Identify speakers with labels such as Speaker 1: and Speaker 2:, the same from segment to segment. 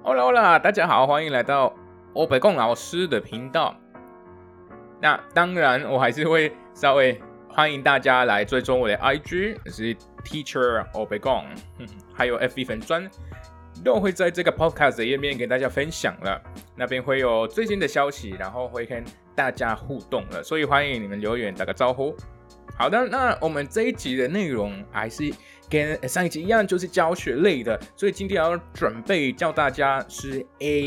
Speaker 1: Hola， 大家好，欢迎来到欧北贡老师的频道。那当然，我还是会稍微欢迎大家来追踪我的 IG， 是 Teacher 欧北贡，还有 FB 粉专，都会在这个 Podcast 的页面给大家分享了。那边会有最新的消息，然后会跟大家互动了，所以欢迎你们留言打个招呼。好的，那我们这一集的内容还是跟上一集一样，就是教学类的，所以今天要准备教大家是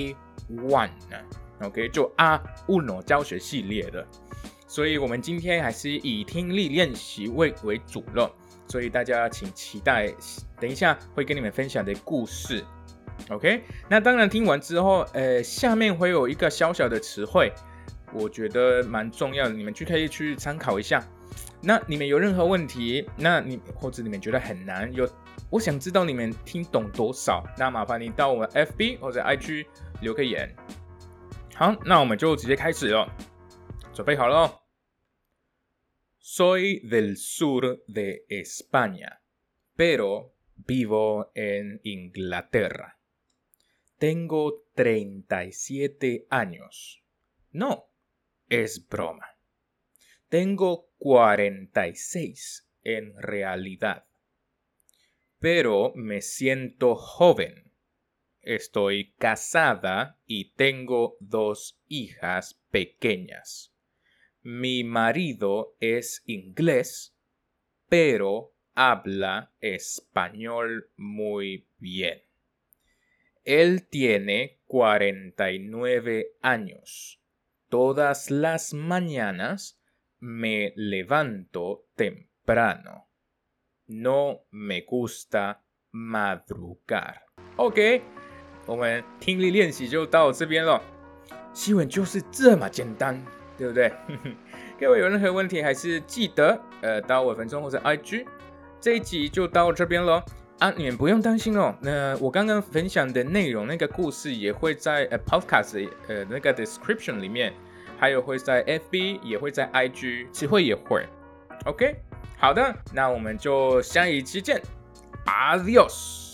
Speaker 1: A1，OK， 就 A1 教学系列的，所以我们今天还是以听力练习为主了，所以大家请期待，等一下会跟你们分享的故事 ，OK， 那当然听完之后，下面会有一个小小的词汇，我觉得蛮重要的，你们可以去参考一下。那你们有任何问题，或者你们觉得很难，我想知道你们听懂多少，那麻烦你到我们 FB 或者 IG 留个言。好，那我们就直接开始了，准备好了哦。Soy del sur de España, pero vivo en Inglaterra. Tengo 37 años. No, es broma.Tengo 46 en realidad, pero me siento joven. Estoy casada y tengo 2 hijas pequeñas. Mi marido es inglés, pero habla español muy bien. Él tiene 49 años. Todas las mañanas,Me levanto temprano. No me gusta madrugar. OK， 我们听力练习就到这边了。新闻就是这么简单，对不对？各位有任何问题，还是记得到我粉专或者 IG。这一集就到这边了啊，你们不用担心哦。我刚刚分享的内容，那个故事也会在podcast 那个 description 里面。还有会在 FB， 也会在 IG， 词汇也会 OK， 好的，那我们就下一期见 Adios。